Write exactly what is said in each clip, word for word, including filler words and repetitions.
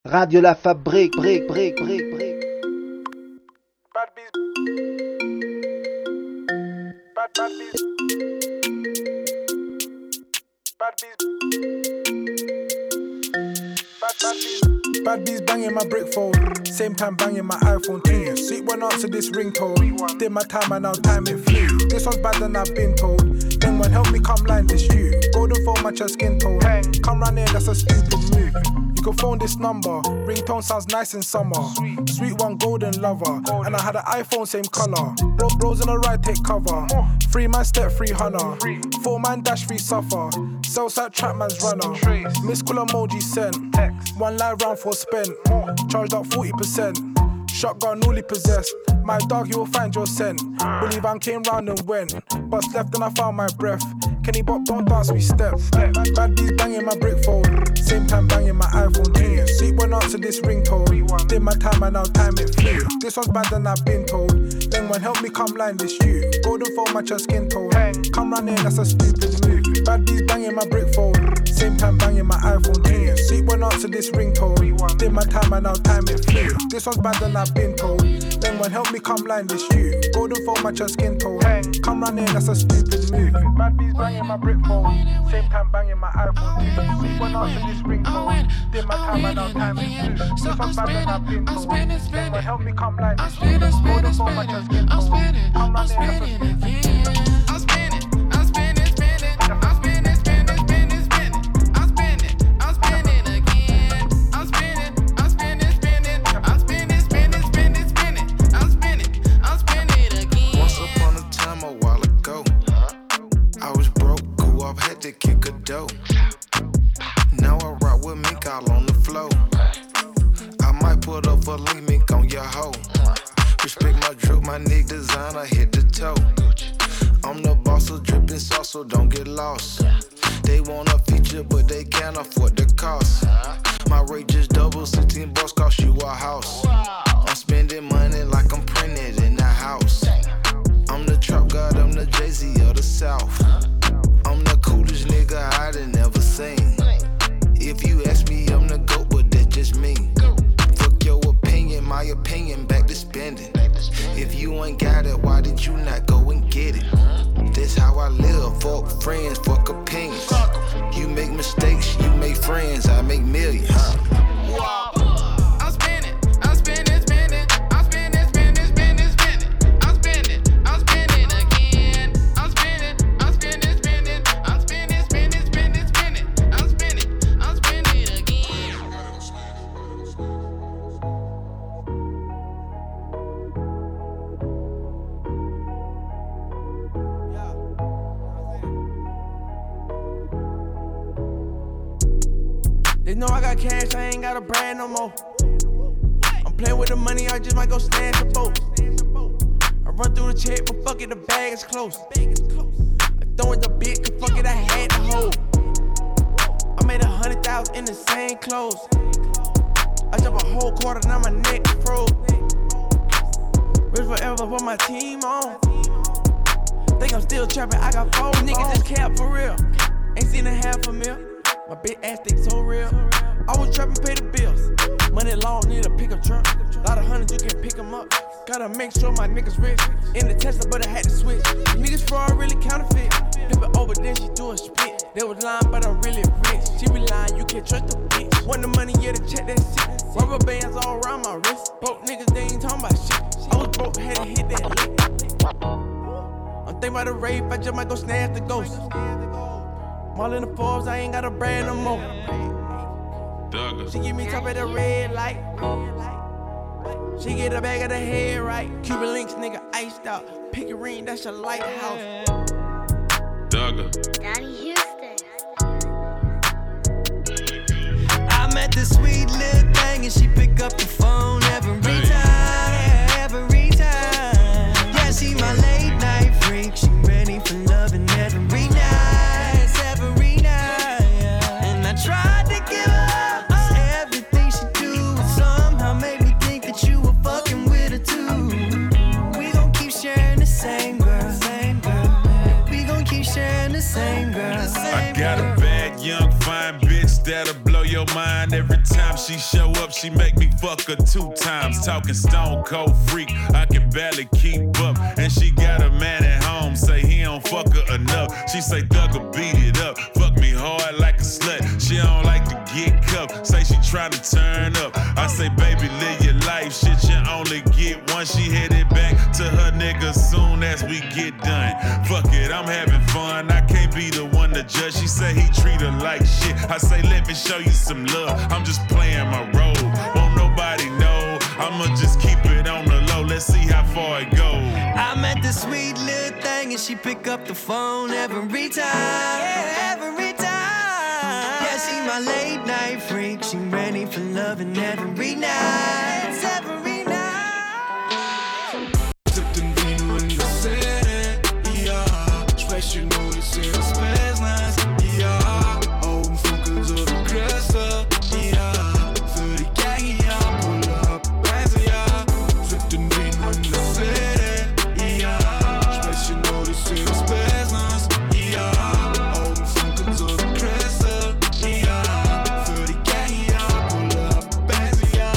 Radio La Fabrique, brique, brique, brique, brique. Bad bees. Bad, bad bees. Bad bees. Bad, bad bees. Bad bees banging my brick phone. Same time banging my iPhone too. Sweet one answer this ringtone. Did my time and now time it flew. This one's bad than I've been told. Then one help me come line this you. Golden phone match your skin tone. Come round here, that's a stupid move. You can phone this number. Ringtone sounds nice in summer. Sweet, Sweet one golden lover. Golden. And I had an iPhone same color. Bro, bros on the right take cover. Three man step, three hunter. Four man dash, three suffer. Southside trap man's runner. Miss call emoji sent. Text. One live round for spent. More. Charged up forty percent. Shotgun newly possessed. My dog, you will find your scent. Believe I came round and went. Bust left and I found my breath. Kenny Bop, don't dance, we step. Bad bees banging my brick phone. Same time banging my iPhone too. Sweet one answer this ringtone. Did my time and now time it flew. This one's bad than I've been told. Then one help me come line this you. Golden phone match your skin tone. Come round in, that's a stupid move. Bad bees banging my brick phone. Same time banging my iPhone too. Sweet one answer this ringtone. Did my time and now time it flew. This one's bad than I've been told. Then one help me come line this you. Golden phone match your skin tone. Come round in, that's a stupid move. Bad bees banging my brick phone. Same time banging my iPhone too. Sweet one answer this ringtone. Did my time and now time it flew. This one's bad than I've been told. Then one help me come line this you. Golden phone match your skin tone. Come round in, that's a stupid move. I'm spinning, I'm spinning, spinning. I'm spinning, spinning, spinning, spinning. I'm spinning, I'm spinning again. I'm spinning, I'm spinning, spinning. I'm spinning, spinning, spinning, spinning. I'm spinning, I'm spinning again. Once upon a time, a while ago, I was broke, grew up, had to kick a dough. Now I rock with mink all on the floor. I might put up a link mink on your hoe. Respect my drip, my nigga designer hit the toe. I'm the boss, so drippin' sauce, so don't get lost. They want a feature, but they can't afford the cost. My rate just double, sixteen bucks cost you a house. I'm spending money like I'm printed in the house. I'm the trap god, I'm the Jay-Z of the South. I'm the coolest nigga I done ever seen. If you ask me, I'm the GOAT, but that's just me. Fuck your opinion, my opinion, back to spending. If you ain't got it, why did you not go and get it? That's how I live, fuck friends, fuck opinions. You make mistakes, you make friends, I make millions. I'm spinning, I'm spinning, spinning. I'm spinning, spinning, spinning, spinning. I'm spinning, I'm spinning again. I'm spinning, I'm spinning, spinning. I'm spinning, spinning, spinning, spinning. I'm spinning, I'm spinning again. They know I got cash, I ain't got a brand no more. I'm playing with the money, I just might go snatch a boat. I run through the check, but fuck it, the bag is close. I throw it the bit, cause fuck it, I had to hold. I made a hundred thousand in the same clothes. I jump a whole quarter, now my neck froze. Rich forever, put my team on. Think I'm still trapping, I got four niggas just cap for real. Ain't seen a half a mil. My big ass stick so real. I was trapping, pay the bills. Money long, need a pickup truck. Lot of hundreds, you can pick them up. Gotta make sure my niggas rich. In the Tesla, but I had to switch. The niggas fraud really counterfeit. Flip it over, then she do a spit. They was lying, but I'm really rich. She be lying, you can't trust the bitch. Want the money, yeah, to check that shit. Rubber bands all around my wrist. Broke niggas, they ain't talking about shit. I was broke, had to hit that lick. I'm thinking about the rape, I just might go snatch the ghost. I'm all in the Forbes, I ain't got a brand no more. She give me top of the red light. She get a bag of the head right. Cuban links, nigga, iced out. Pick a ring, that's your lighthouse. Dugger. Donnie Houston. I met this sweet little thing and she pick up the phone every time, every time. Yeah, she my late night freak. She ready for loving every night. Tried to give her up, everything she do somehow made me think that you were fucking with her too. We gon' keep sharing the same girl, same girl. We gon' keep sharing the same girl, same I got girl. A bad young fine bitch that'll blow your mind. mind every time she show up. She make me fuck her two times. Talking stone cold freak, I can barely keep up. And she got a man at home, say he don't fuck her enough. She say Thugger beat it up, fuck me hard like a slut. She don't like to get cuffed, say she tryna turn up. I say baby live your life, shit you only get one. She headed back to her nigga soon as we get done. Fuck it, I'm having fun, I can't be the one to judge. She say he treat her like shit, I say let me show you some love. I'm just playing my role, won't nobody know. I'ma just keep it on the low, let's see how far it goes. I met this sweet little thing and she pick up the phone every time, yeah, every time. Yeah, she my late night freak, she ready for loving every night, every night. Tipp den Vino in der Szene, ja, spreche nur die Szene des Business, ja, Augen funkeln so wie Crystal, ja, für die Gang, ja, pull up, Benz, ja, tipp den Vino in der Szene, ja, spreche nur die Szene des Business, ja, Augen funkeln so wie Crystal, ja, für die Gang, ja, pull up, Benz, ja.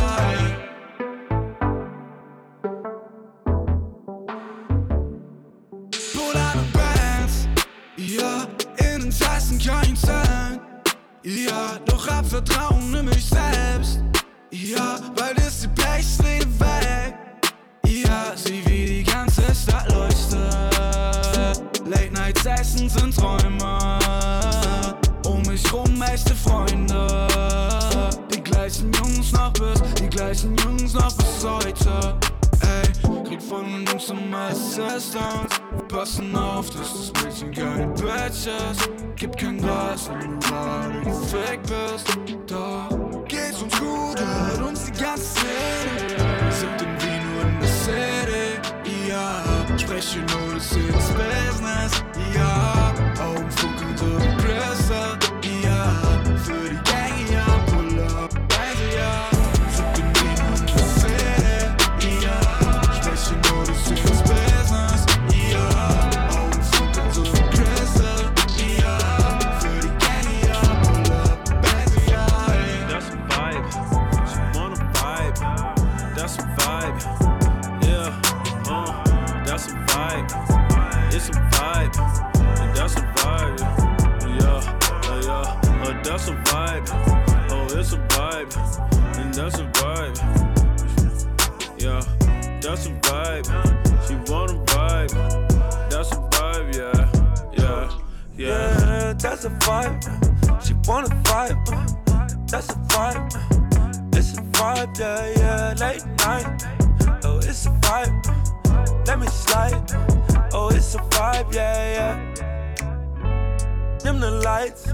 Pull out of Bands, ja, in den Tasten kein Cent, ja, doch hab Vertrauen in mich selbst, ja, weil das die Pechsträhne weg, ja, sieh wie die ganze Stadt leuchtet, Late Night Sessions sind Träume, um mich rum echte Freunde, die gleichen Jungs noch bis, die gleichen Jungs noch bis heute, ey, krieg von den Jungs immer Assistance, passen auf, dass das Mädchen keine Bitches, gibt kein Glas, wenn du gerade gefickt bist, doch geht's uns gut, hört uns die ganze Szene, sippt den Vino in der City, ja, spreche nur das Szene des Business, ja, Augen funkeln so wie Crystal, ja, für die Gang, ja, pull up, Benz, ja, sippt den Vino in der City, ja, spreche nur das Szene des Business, ja, Augen funkeln so wie Crystal, ja, für die Gang, ja, pull up, Benz, ja, ey. That's a vibe, she wanna vibe. That's a vibe, yeah, uh, that's a vibe. It's a vibe, and that's a vibe, yeah, uh, yeah, uh, that's a vibe. Oh, it's a vibe, and that's a vibe, yeah, that's a vibe. She wanna vibe, that's a vibe, yeah, yeah, yeah. Yeah, that's a vibe. She wanna vibe. That's a vibe. It's a vibe, yeah, yeah. Late night. Oh, it's a vibe. Let me slide. Oh, it's a vibe, yeah, yeah. Dim the lights.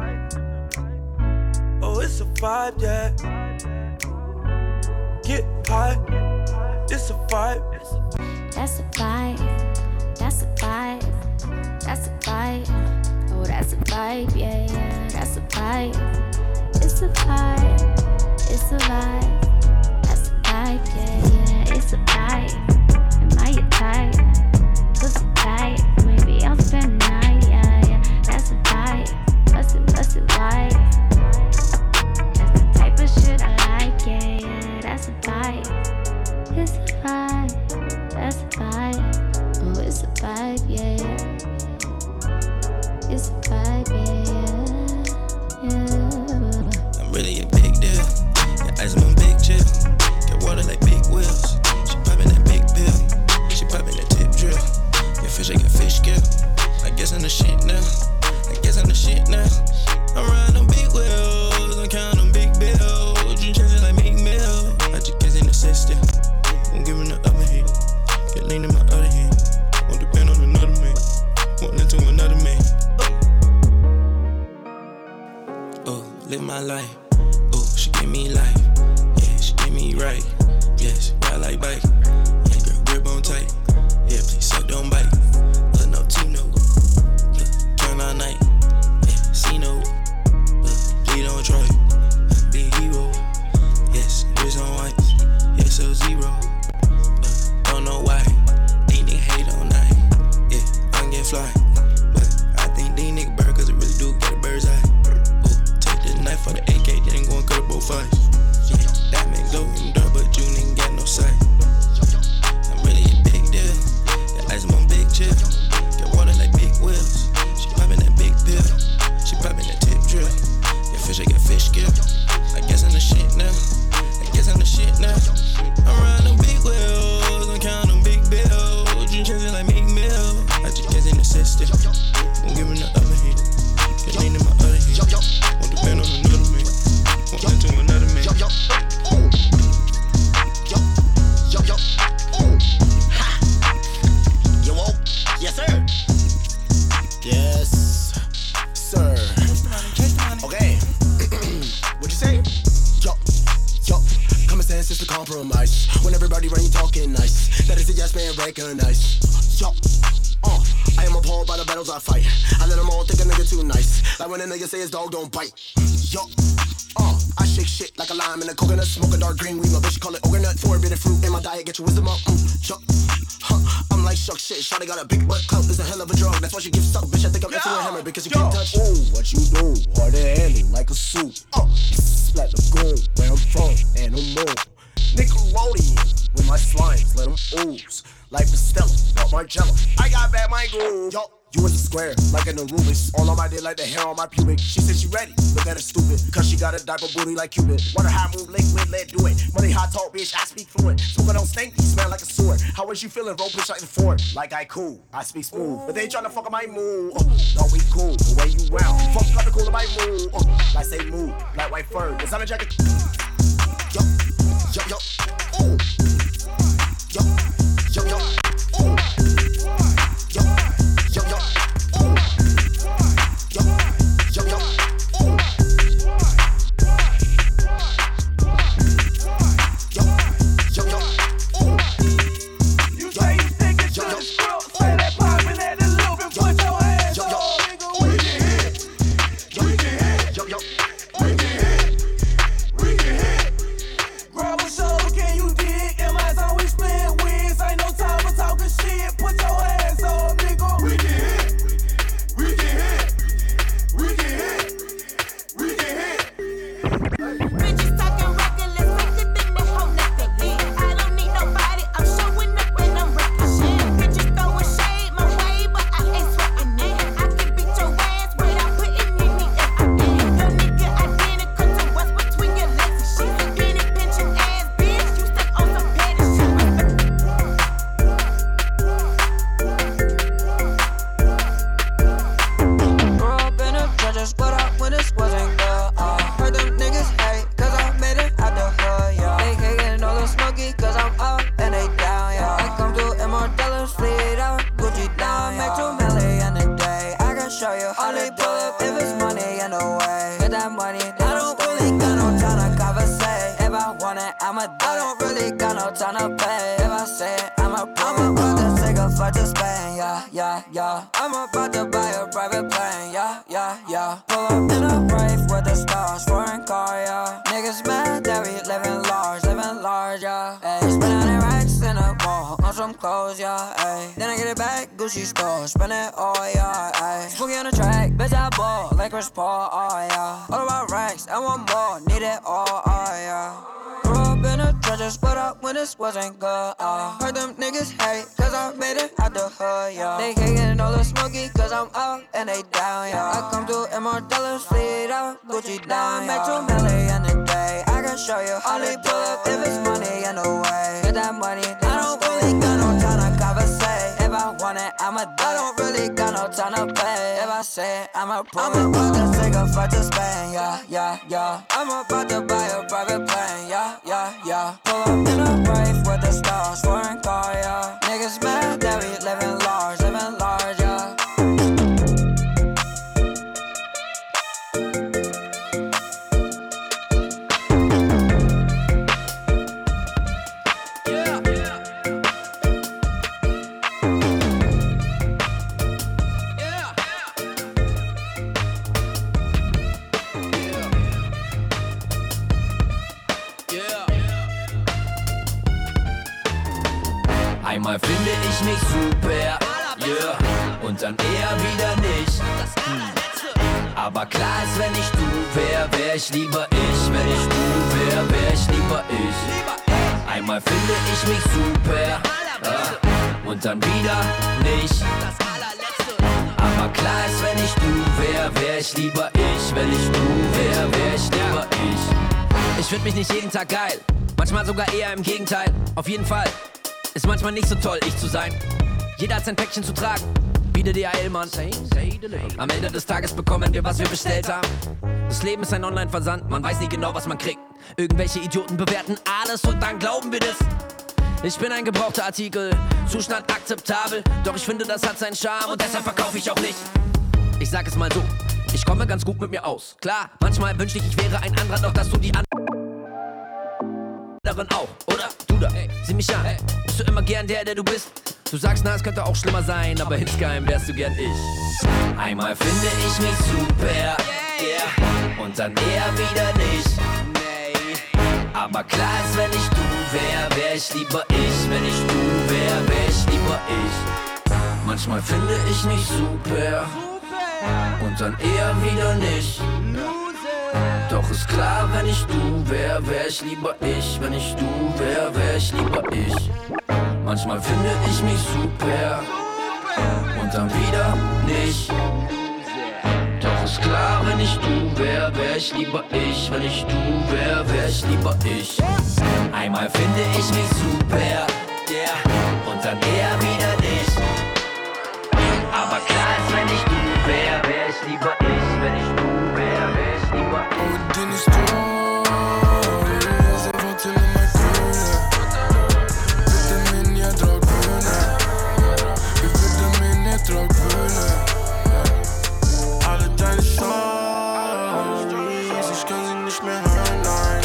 Oh, it's a vibe, yeah. Get high. It's a vibe. That's a vibe. That's a vibe. That's a vibe. Oh, that's a vibe, yeah, yeah. That's a vibe. It's a vibe. It's a vibe. That's a vibe, yeah, yeah. It's a vibe. Am I your type? Pussy tight. Maybe I'll spend the night, yeah, yeah. That's a vibe. Bust it, bust it wide. That's the type of shit I like, yeah, yeah. That's a vibe. It's a vibe. That's a vibe. Oh, it's a vibe, yeah, yeah. It's a vibe, yeah, yeah, yeah. I'm really a big deal. Yeah, I chance is to compromise. When everybody around you talking nice, that is a yes man recognize. Yo, uh, I am appalled by the battles I fight. I let them all think a nigga too nice. Like when a nigga say his dog don't bite. Yo, uh, I shake shit like a lime in a coconut. Smoke a dark green weed, my bitch call it coconut. Four-bit fruit in my diet, get your wisdom up. Mm, yo, huh, I'm like shuck shit. Shawty got a big butt clout, is a hell of a drug. That's why she gives up, bitch. I think I'm into a hammer because you can't touch. Ooh, what you do? Hard to handle like a suit. Uh, Splat Lagoon, where I'm from, and I'm more. Nickelodeon, with my slimes, let them ooze. Like Stella, not my jello. I got bad my groove. Yo, you was a square, like an Anubis. All on my dick, like the hair on my pubic. She said she ready, look at her stupid. Cause she got a diaper booty like Cupid. Water high move, liquid, let do it. Money hot talk, bitch, I speak fluent. Smoking on stanky, smell like a sword. How was you feeling, roll bitch like the Ford? Like I cool, I speak smooth. But they tryna fuck up my mood. Uh, don't we cool, the way you round. Fuck cut the cool of my mood. Uh, like say move, like white fur. Designer jacket. Yo, yo, yo, ooh. Yo, yo, yo, ooh. Yo, yo, yo, ooh. Yo, yo, yo, ooh. Yo, yo, yo, ooh. You say you think it's good as girl, say that poppin' at a little bit, put your hands up, nigga, we can hit. We can hit. Yo, yo, we can hit. We can hit. Girl, what's up, can you dig? Am I so we split wins? Ain't no time for talking shit, put your hands up, nigga. We can hit. We can hit. We can hit. We can hit. Bitches talking reckless, quicker than the whole nothing. I don't need nobody, I'm showing up and I'm wrecking shit. Bitches throwing shade my way, but I ain't sweating it. I can beat your ass without putting any effort in. Your nigga identical to what's between your legs and shit. Penny pinching ass bitch, you stuck on some petty shit. Grew up in the trenches, but I when this wasn't good. Uh, heard them niggas hate, cause I made it out the hood, yeah. They hating all the smoky, cause I'm up and they down, yeah. I come through in more dollars, fleet out, Gucci down, yeah. Make two million a day, I can show you how they pull up if it's money in the way. Get that money, I don't really got no time to conversate. If I want it, I'ma do it. I don't really got no time to pay. If I say it, I'ma prove it. I'm about to take a flight to Spain, yeah, yeah, yeah. I'm about to buy a private plane, yeah, yeah, yeah. Pull up in a rave with the stars, foreign car, yeah. Niggas mad that we living large, living large, yeah. Ayy, spend a hundred racks in a mall on some clothes, yeah. Ayy, then I get it back, Gucci store, spend it all, yeah. Ayy, spooky on the track, bitch I ball, like Chris Paul, oh yeah. All about racks, I want more, need it all, oh yeah. Grew up in the trenches, but up when this wasn't good, uh. Heard them niggas hate, cause I made it out the hood, yeah. They hating all the smoky, cause I'm up and they down, yeah. I come through in more dollars, fleet out, Gucci down, yeah. Make two million a day, I can show you how they pull up if it's money in the way. Get that money, I don't really got no time to conversate. If I want it, I'ma do it. I don't really got no time to pay. If I say it, I'ma prove it. I'm about to take a flight to Spain, yeah, yeah, yeah. I'm about to buy a private plane, yeah, yeah, yeah. Pull up in a rave with the stars, foreign car, yeah. Niggas mad that we living large, living large, yeah. Einmal finde ich mich super, yeah, und dann eher wieder nicht. Hm. Aber klar ist, wenn ich du wär, wär ich lieber ich. Wenn ich du wär, wär ich lieber ich. Einmal finde ich mich super, ja, und dann wieder nicht. Aber klar ist, wenn ich du wär, wär ich lieber ich. Wenn ich du wär, wär ich lieber ich. Ich find mich nicht jeden Tag geil, manchmal sogar eher im Gegenteil. Auf jeden Fall ist manchmal nicht so toll, ich zu sein. Jeder hat sein Päckchen zu tragen, wie der D H L, Mann. Am Ende des Tages bekommen wir, was wir bestellt haben. Das Leben ist ein Online-Versand, man weiß nie genau, was man kriegt. Irgendwelche Idioten bewerten alles und dann glauben wir das. Ich bin ein gebrauchter Artikel, Zustand akzeptabel. Doch ich finde, das hat seinen Charme und deshalb verkaufe ich auch nicht. Ich sag es mal so, ich komme ganz gut mit mir aus. Klar, manchmal wünschte ich, ich wäre ein anderer, doch dass du die anderen darin auch, oder? Du da, ey, sieh mich an. Bist du immer gern der, der du bist? Du sagst, na, es könnte auch schlimmer sein, aber insgeheim wärst du gern ich. Einmal finde ich mich super, yeah, und dann eher wieder nicht. Aber klar ist, wenn ich du wär, wär ich lieber ich. Wenn ich du wär, wär ich lieber ich. Manchmal finde ich mich super und dann eher wieder nicht. Doch ist klar, wenn ich du wär, wär ich lieber ich. Wenn ich du wär, wär ich lieber ich. Manchmal finde ich mich super und dann wieder nicht. Doch ist klar, wenn ich du wär, wär ich lieber ich. Wenn ich du wär, wär ich lieber ich. Einmal finde ich mich super, yeah, und dann eher wieder nicht. Aber klar ist, wenn ich du wär, wär ich lieber ich. Wenn ich du wär, wär ich lieber ich. Und den ist så fortæller mig køle. Vitaminer, drukbønne. Vi vitaminer, drukbønne. Alle deine Stories, ich kann sie nicht mehr hören, nein.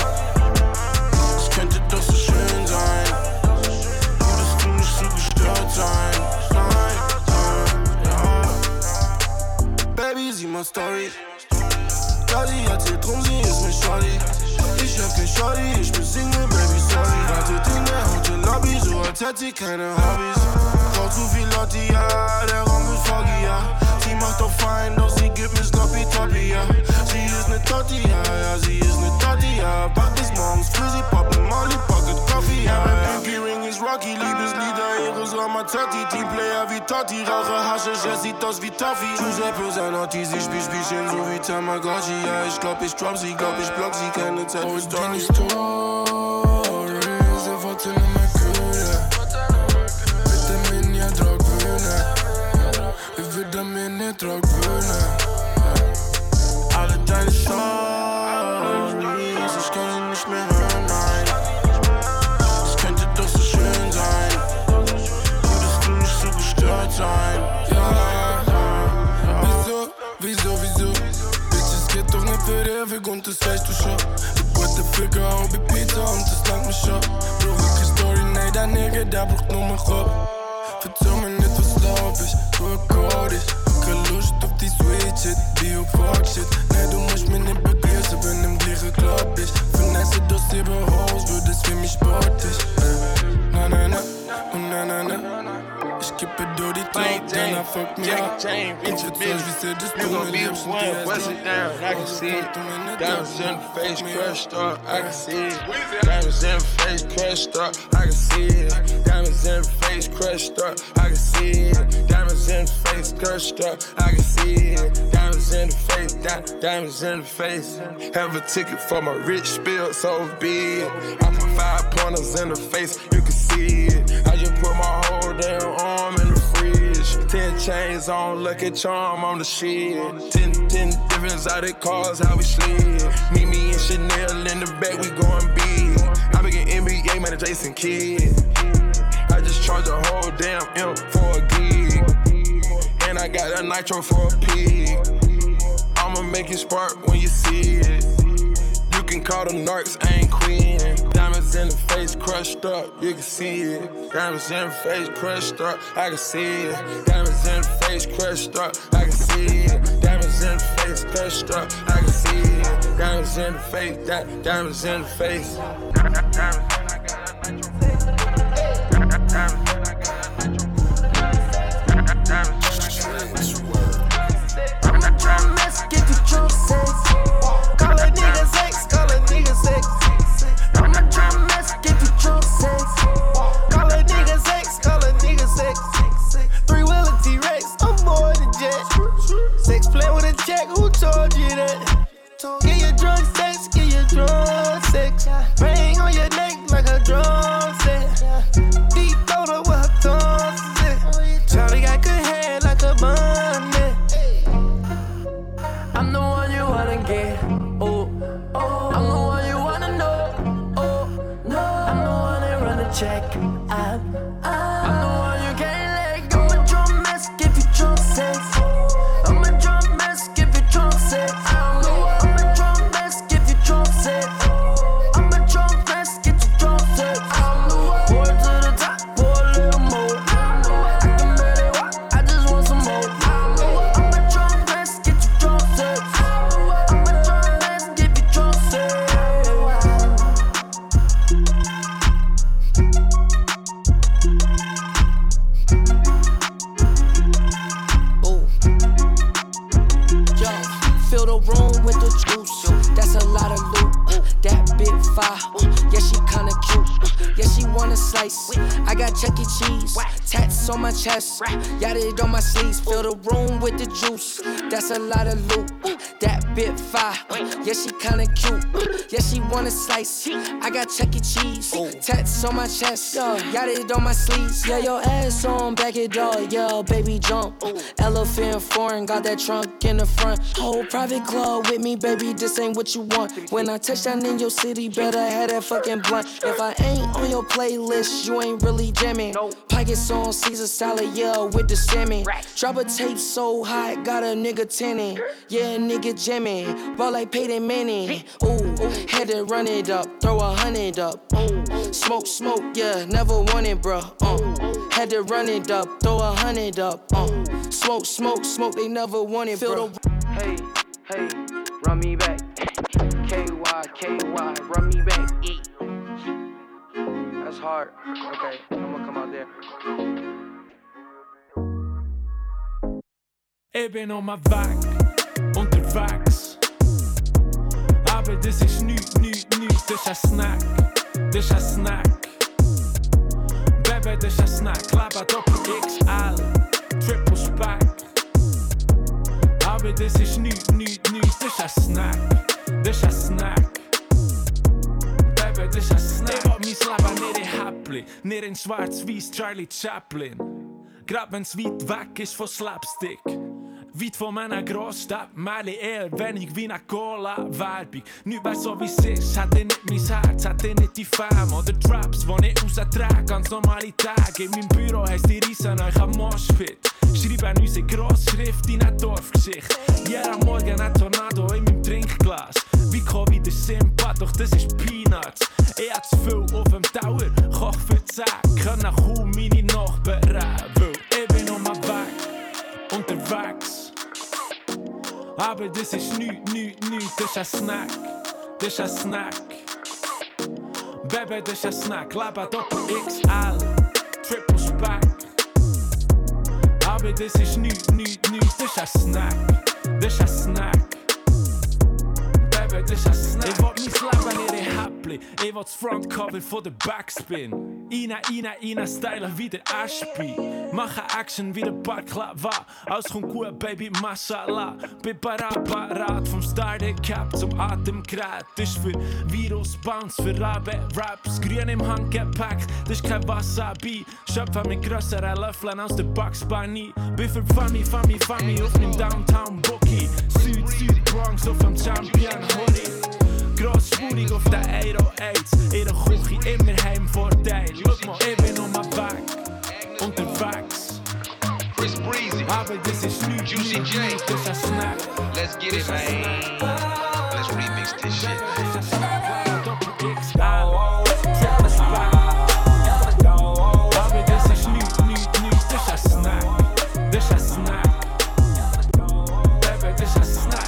Es könnte doch so schön sein, würdest du nicht so gestört sein, nein, nein, ja. Baby, sieh mal Story. Ja, sie erzählt drum, sie ist mit Shorty. Ich hab kein Shorty, ich bin Single, Baby, sorry. Wartet in der Hotel-Lobby, so als hätte sie keine Hobbys. Braucht zu viel Lotti, ja, der Raum wird foggy, ja. Sie macht doch fein, doch sie gibt mir Sloppy Toppy, ja. Sie ist ne Totti, ja, ja, sie ist ne Totti, ja. Back bis morgens früh, sie poppt ne Molly, Pocket Coffee, ja. Mein Pinky Ring ist Rocky, Liebeslieder, Eros, Ramazzotti. Teamplayer wie Totti, rauche Haschisch, er sieht aus wie Toffee. Giuseppe Zanotti, sie spielt Spielchen so wie Tamagotchi, ja. Ich glaub, ich drop sie, glaub, ich block sie, keine Zeit für Stories. Stories, er fortæller mig køle. Vitaminer, drukbønne. Vi vitaminer, drukbønne. Alle deine Stories, ich kann sie nicht mehr hören, nein. Es könnte doch so schön sein, würdest du nicht so gestört sein, ja, ja, ja. Wieso, wieso, wieso? Bitches, geht doch nicht für dir Weg und das weißt du schon. Ich wollte Ficker, auch wie Pizza und das langt mich schon. Brauch ich keine Story, nee, der Nigga, der braucht nur mein Kopf. Verzeih mir nicht, was glaub ich, du akkord ich. Keine Lust auf die Sweet Shit, Bio-Fuck-Shit. Nee, du musst mich nicht begrüßen, bin im gleichen Club, ich finesse das Silberhaus, wird es für mich sportlich. Na, na, na, oh, na, na, na. Ich kippe durch die Club, dann er fuck mich ab. Ich verzeih, wie sie das tun, mir liebst und die Bust it down, I can see it. Diamonds in the face, crushed up, I can see it. Diamonds in the face, crushed up, I can see it. Diamonds in the face, crushed up, I can see it. Diamonds in the face, crushed up, I can see it. Diamonds in the face, di- diamonds in the face. Have a ticket for my rich spill, so be it. I put five pointers in the face, you can see it. I just put my whole damn arm in the fridge. Ten chains on, Lucky Charm on the shit. Ten, ten different exotic cars, how we slid. Meet me in Chanel in the back, we going big. I been in N B A, man, Jason Kidd. I just charge a whole damn M for a gig. And I got a nitro for a pig. I'ma make it spark when you see it. You can call them narcs, I ain't queen. Diamonds in the face, crushed up, you can see it. Diamonds in the face, crushed up, I can see it. Diamonds in the face, crushed up, I can see it. Diamonds in the face, crushed up, I can see it. Diamonds in the face, di- diamonds in the face. I'm a drum mess, give you true sex. Call a nigga sex, call a nigga sex. I'm a drum mess, give you true sex. Call a nigga sex, call a nigga sex. Three wheeler T-Rex, I'm more than jet. Sex play with a check, who told you that? Get your drunk sex, get your drunk sex. Ring on your neck like a drum set. Deep throat up with her tongue set. Charlie got good hair like a bun. I'm the one you wanna get. Oh, oh. I'm the one you wanna know. Oh, no. I'm the one that run the check. I, I, I'm the one you can't let go. I'm a drum mess, give you drunk sex. I'm a drum mess, give you drunk sex. I'm a drum mess, give you drunk sex. I'm a drum mess, get you drunk yeah, she kinda cute. Yeah, she wanna slice. I got Chuck E. Cheese, tats on my chest, got it on my sleeves. Fill the room with the juice. That's a lot of loot. That bit fire. Yeah, she kinda cute. Yeah, she wanna slice. I got Chuck E. Cheese, tats on my chest, got it on my sleeves. Yeah, your ass on, back it up. Yeah, baby jump. Elephant foreign, got that trunk in the front. Whole private club with me, baby. This ain't what you want. When I touch down in your city, better have that fucking blunt. If I ain't on your playlist, you ain't really jamming. Pockets on Caesar salad, yeah, with the salmon. Drop a tape so hot, got a nigga tinning. Yeah, nigga jamming, ball like Peyton Manning. Ooh, had to run it up, throw a hundred up. Ooh, smoke, smoke, yeah, never want it, bruh. Uh, had to run it up, throw a hundred up. Uh, smoke, smoke, smoke, they never want it, bruh. Hey, hey, run me back. K Y, K Y, run me back. E. That's hard. Okay, I'm gonna come out there. Ich bin auf meinem Weg, unterwegs. Aber das ist nichts, nichts, nichts. Das ist ein Snack, das ist ein Snack. Baby, das ist ein Snack. Leben Doppel X L, Triple Spack. Aber das ist nichts, nichts, nichts. Das ist ein Snack, das ist ein Snack. Baby, das ist ein Snack. Ich will mein Leben nicht in Häppli, nicht in schwarz-weiß Charlie Chaplin. Grad wenn's weit weg ist von Slapstick. Weit von meiner Großstadt, meine eher wenig wie eine Cola-Werbung. Nicht mehr so wie es ist, hat er nicht mein Herz, hat er nicht die Fame oder Traps, die ich raustrage, ganz normale Tage. In meinem Büro heisst die Riesen euch am Moshpit. Schreiben unsere Grossschrift in eine Dorfgeschichte. Jeden Morgen ein Tornado in meinem Trinkglas. Wie Covid ist Simpa, doch das ist Peanuts. Ich hab zu viel auf dem Tower, koch für zehn, kann nach kaum meine Nachbarn weil ich bin auf meinem Weg, unterwegs. Aber das ist nichts, nichts, nichts, das ist ein Snack, das ist ein Snack. Baby, das ist ein Snack, Leben Doppel X L, Triple Spack. Aber das ist nichts, nichts, nichts, das ist ein Snack, das ist ein Snack. Baby, das ist ein Snack. Ich will mein Leben nicht in Häppli, ich will das Frontcover von der Backspin. Rein, rein, rein, stylen wie der Ashby. Mache Action wie der Baklava. Alles kommt gut, Baby, Mashallah. Bin parat, parat, vom Starter Cap zum Atemgerät. Das ist für Virus, Bounce, für Rabe, Raps. Grün im Handgepäck, das ist kein Wasabi. Schöpfe mit grösseren Löffeln aus der Bugs Bunny. Bin für Fami, Fami, Fami auf dem Downtown Bookie. Süd, Süd, Bronx auf dem Champion Hoodie. Grossspurig auf der Aero Aids. Ihre Küche immer Heimvorteil. Schau mal, ich bin auf meinem Weg, unterwegs. Chris Breezy, aber das ist nichts, Juicy J, das ist ein Snack. Let's get it, man. Let's remix this shit. Aber das ist nichts, nichts, nichts. Das ist ein Snack, das ist ein Snack. Baby, das ist ein Snack.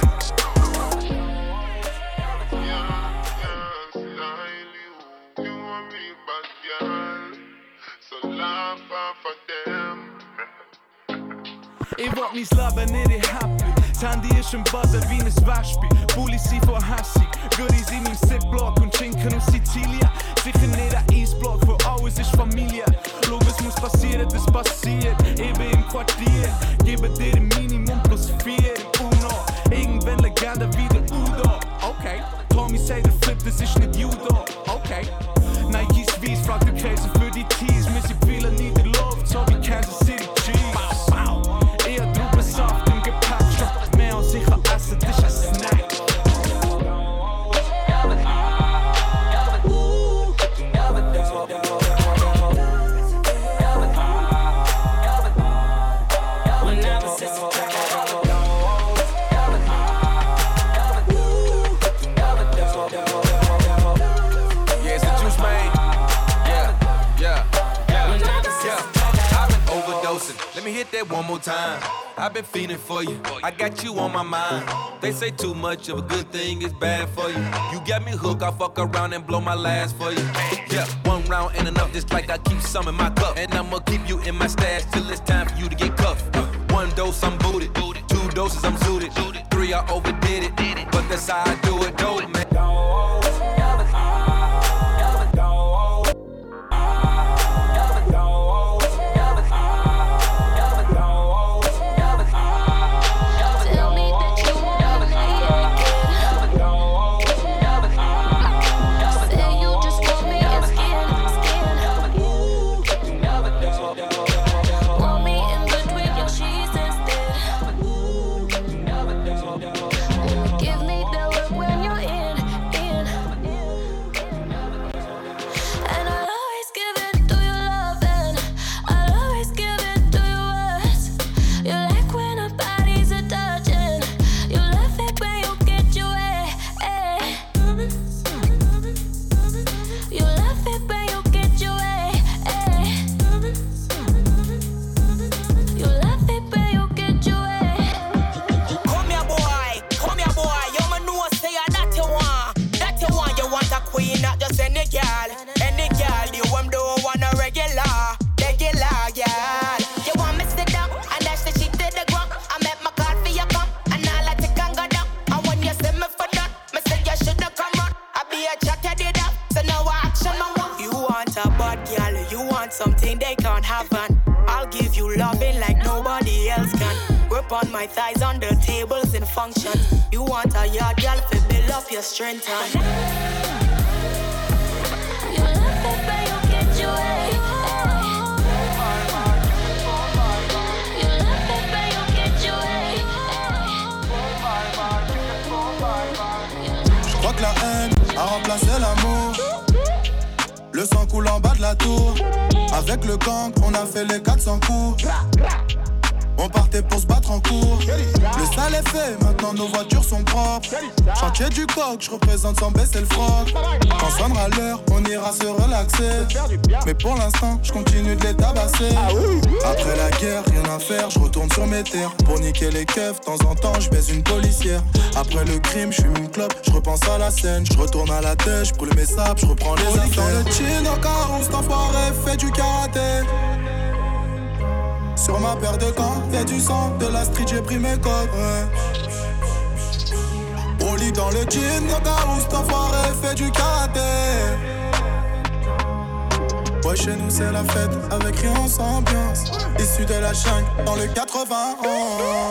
Ich will mein Leben nicht in Happy. Das Handy ist im Buzzer wie ein Waschbein. Bullis sind von hässig, Goodies in meinem Zipblock und Schinken aus Sizilien. Sicher nicht ein Eisblock, wo alles ist Familie. Schau, es muss passieren, das passiert. Ich bin im Quartier, gebe dir ein Minimum plus vier im Uno. Irgendwann Legende wie der Udo. Okay, Tommy sagt der Flip, das ist nicht Judo. Okay, Nike's Weiß, fragt der Käse für die Tees. Wir sind viele nie der Luft, so wie Kansas City Chiefs. Ich hab Traubensaft im Gepäck, schon mehr als ich kann essen, das ist ein Snack. Let me hit that one more time. I've been feeling for you. I got you on my mind. They say too much of a good thing is bad for you. You got me hooked, I'll fuck around and blow my last for you. Yeah, one round ain't enough, just like I keep some in my cup. And I'ma keep you in my stash till it's time for you to get cuffed. One dose, I'm booted. Two doses, I'm suited. Three, I overdid it. But that's how I do it, dope, man. something they can't have, and I'll give you loving like nobody else can. Grip on my thighs on the tables in function. You want a yard girl to build up your strength, and you left it, but you get your way. You left it, but you get your way. J'crois que la haine a remplacé l'amour. Le sang coule en bas de la tour. Avec le gang, on a fait les quatre cents coups. On partait pour se battre en cours. Le sale est fait, maintenant nos voitures sont propres. Chantier du coq, je représente sans baisser le froc. Quand sonnera l'heure, on ira se relaxer. Mais pour l'instant, je continue de les tabasser. Après la guerre, rien à faire, je retourne sur mes terres. Pour niquer les keufs, de temps en temps, je baise une policière. Après le crime, je fume une clope, je repense à la scène. Je retourne à la tête, je brûle mes sables, je reprends les affaires. Dans le chin, au carreau, cet enfoiré fait du karaté. Sur ma paire de gants, y'a du sang, de la street, j'ai pris mes codes, ouais. Au lit dans le jean, au cas où cet enfoiré fait du karaté. Ouais, chez nous c'est la fête, avec rien sans ambiance. Issu de la jungle, dans le quatre-vingt-onze.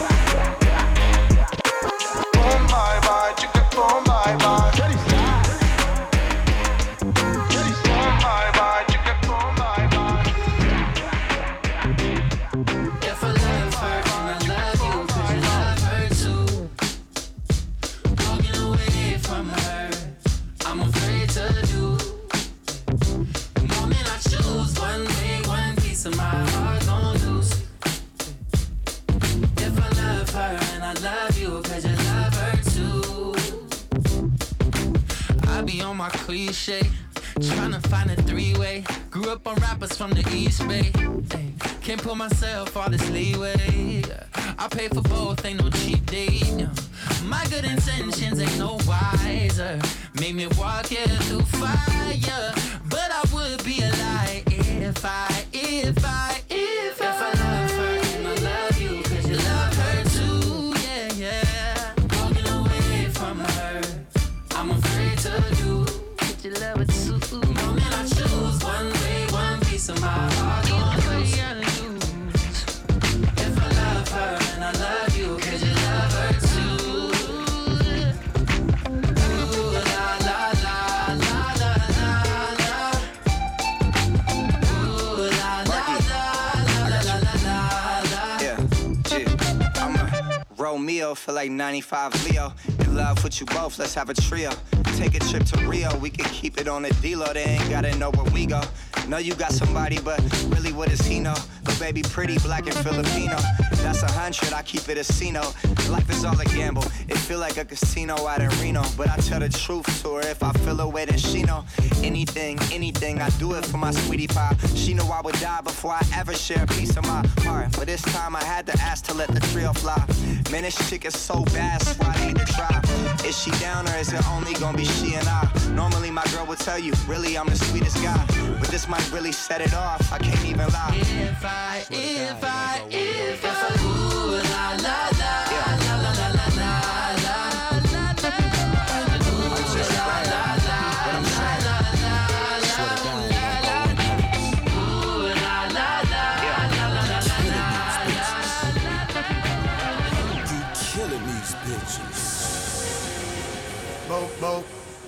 Boom, bye bye, chicken, boom, bye bye. My cliche, tryna find a three-way. Grew up on rappers from the East Bay. Ay, can't put myself all this leeway. I pay for both, ain't no cheap date. My good intentions ain't no wiser. Made me walk here through fire, but I would be a lie if I, if I, if I, if I love her and I love you, 'cause you love her too. Yeah, yeah. Walking away from her, I'm afraid to do. You love it too. The moment I choose one way, one piece of my heart, either way I lose. If I love her and I love you, 'cause you love her too. Ooh, la la la la la la la. Ooh, la la la la la la la la. Yeah, yeah. I'm a Romeo, feel like ninety-five Leo. In love with you both, let's have a trio. Take a trip to Rio, we can keep it on the D-Lo. They ain't gotta know where we go. Know you got somebody, but really what does he know? But baby, pretty, black and Filipino. That's a hundred, I keep it a casino. Life is all a gamble, it feel like a casino out in Reno. But I tell the truth to her, if I feel a way, then she know. Anything, anything, I do it for my sweetie pie. She know I would die before I ever share a piece of my heart. But this time I had to ask to let the trio fly. Man, this chick is so bad, so I need to try. Is she down or is it only gonna be she and I? Normally my girl would tell you, really I'm the sweetest guy. But this might really set it off, I can't even lie. If I, if I, if I, ooh, la la la, la la la la la la la la. Ooh, la la la, la la la la. You killing these bitches. Bo, bo.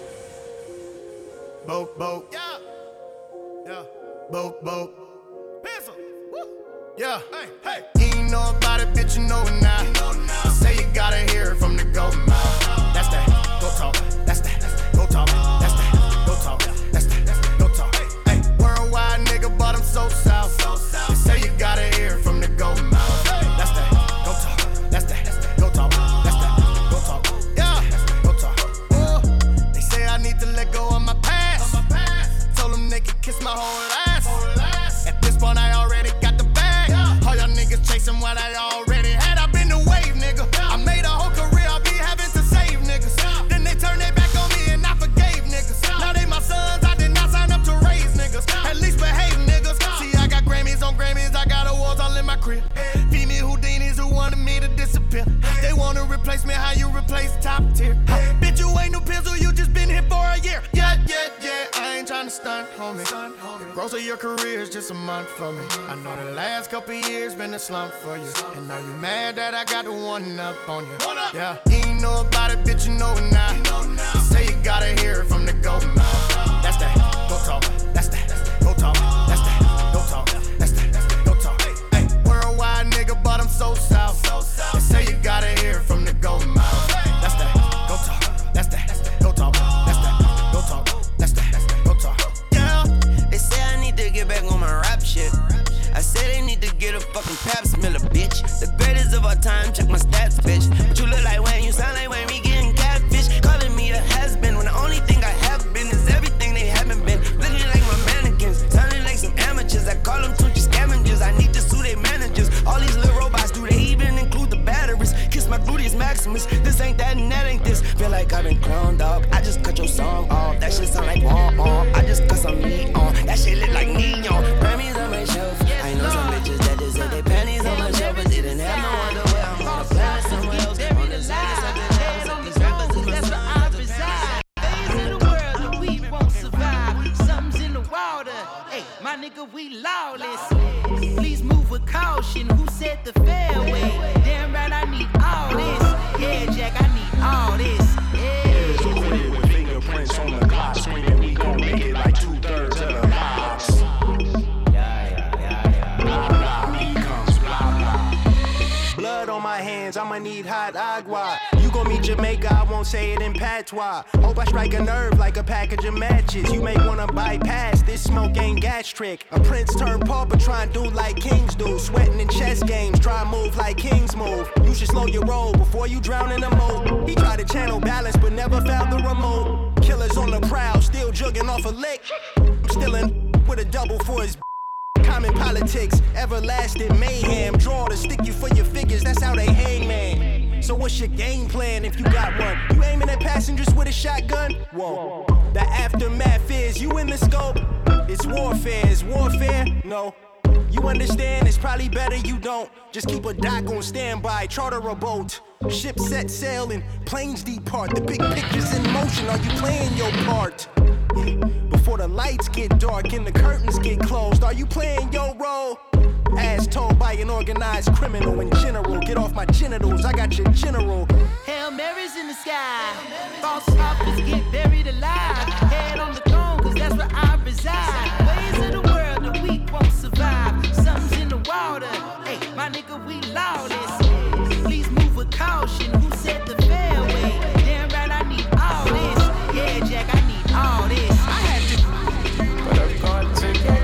Bo, bo. Yeah. Yeah. Bo, bo. Pencil. Woo. Yeah. Hey, hey. You ain't know about it, bitch, you know it now. You know it now. Say you gotta hear it from the golden mouth. That's that. Go talk. That's that. Go talk. That's that. Go talk. That's that. Go talk. Hey, worldwide nigga, but I'm so south. They say you gotta hear it from the golden mouth. That's that. Go talk. That's that. Go talk. That's that. Go talk. Yeah. Go talk. Oh, they say I need to let go of my past. Told them they could kiss my whole ass. At this point, I already got the bag. All y'all niggas chasing what I already had. I've been the wave, nigga. I made a whole career, I'll be having to save niggas. Then they turned their back on me and I forgave niggas. Now they my sons, I did not sign up to raise niggas. At least behave niggas. See, I got Grammys on Grammys, I got awards all in my crib. Feed me Houdinis who wanted me to disappear. They wanna replace me, how you replace top tier? Bitch, you ain't no pencil, you just been here for a year. Yeah, yeah, yeah, I ain't tryna stop. stunt, homie. The growth of your career is just a month for me. I know the last couple years been a slump for you. And now you mad that I got the one up on you. Yeah, you ain't know about it, bitch, you know it now. You say you gotta hear it from the go mouth. That's that, go talk. That's that, go talk. That's that, go talk. That's that, go talk. Hey, worldwide nigga, but I'm so south. They say you gotta hear it from the go mouth. That's that, go talk. That's that, go talk. That's that, go talk. That's that, go talk. Yeah, they say I need to get back on my rap shit. I say they need to get a fucking pap smeller, bitch. The greatest of all time, check my stats, bitch. But you look like Wayne, you sound like Wayne, we getting catfish. Calling me a has-been when the only thing I have been is everything they haven't been. Looking like my mannequins, sounding like some amateurs. I call them Tunchi scavengers, I need to sue their managers. All these little robots, do they even include the batteries? Kiss my gluteus maximus, this ain't that and that ain't this. Feel like I've been cloned up, I just cut your song off. That shit sound like womp womp, I just cut some meat on. That shit look like neon, Grammys on my shelf. I know some bitches that just said they panties on my shelf, but didn't have no underwear. I'm on a planet somewhere else, on the side of something else. Like these rappers is That's where I reside. Things in the world that we won't survive. Something's in the water. Hey, my nigga, we lawless. Please move with caution. Who said the fairway? Damn right, I need all this. Yeah, Jack, I need all this. Yeah. With fingerprints on the clock, screaming we gon' make it like two thirds of the box. Blood on my hands, I'ma need hot agua. You gon' meet Jamaica, I won't say it in patois. Hope I strike a nerve like a package of matches. You may wanna bypass, this smoke ain't gastric. A prince turned pauper, try and do like kings do. Sweating in chess games, try and move like kings move. You should slow your roll before you drown in the moat. He tried to channel balance, but never found the remote. Killers on the prowl, still jugging off a lick. I'm still in with a double for his. Common politics, everlasting mayhem. Draw to stick you for your figures, that's how they hang, man. So what's your game plan if you got one? You aiming at passengers with a shotgun? Whoa. The aftermath is you in the scope. It's warfare, is warfare? No. You understand, it's probably better you don't. Just keep a dock on standby, charter a boat. Ship set sail and planes depart. The big picture's in motion, are you playing your part? Before the lights get dark and the curtains get closed, are you playing your role? As told by an organized criminal in general, get off my genitals, I got your general. Hail Mary's in the sky, false prophets get buried alive. Head on the throne, cause that's where I reside. Ways of the world that we won't survive. Something's in the water, hey, my nigga, we lawless. Please move with caution, who said the fairway? Damn right, I need all this. Yeah, Jack, I need all this. I had to, but I've got to get